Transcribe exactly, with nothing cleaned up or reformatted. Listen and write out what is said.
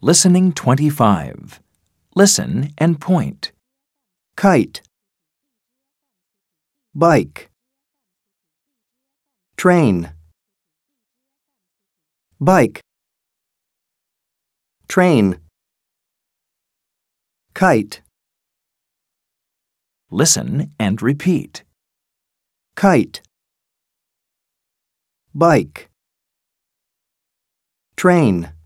Listening twenty-five. Listen and point. Kite, bike, train, bike, train, kite, Listen and repeat. kite, bike, train.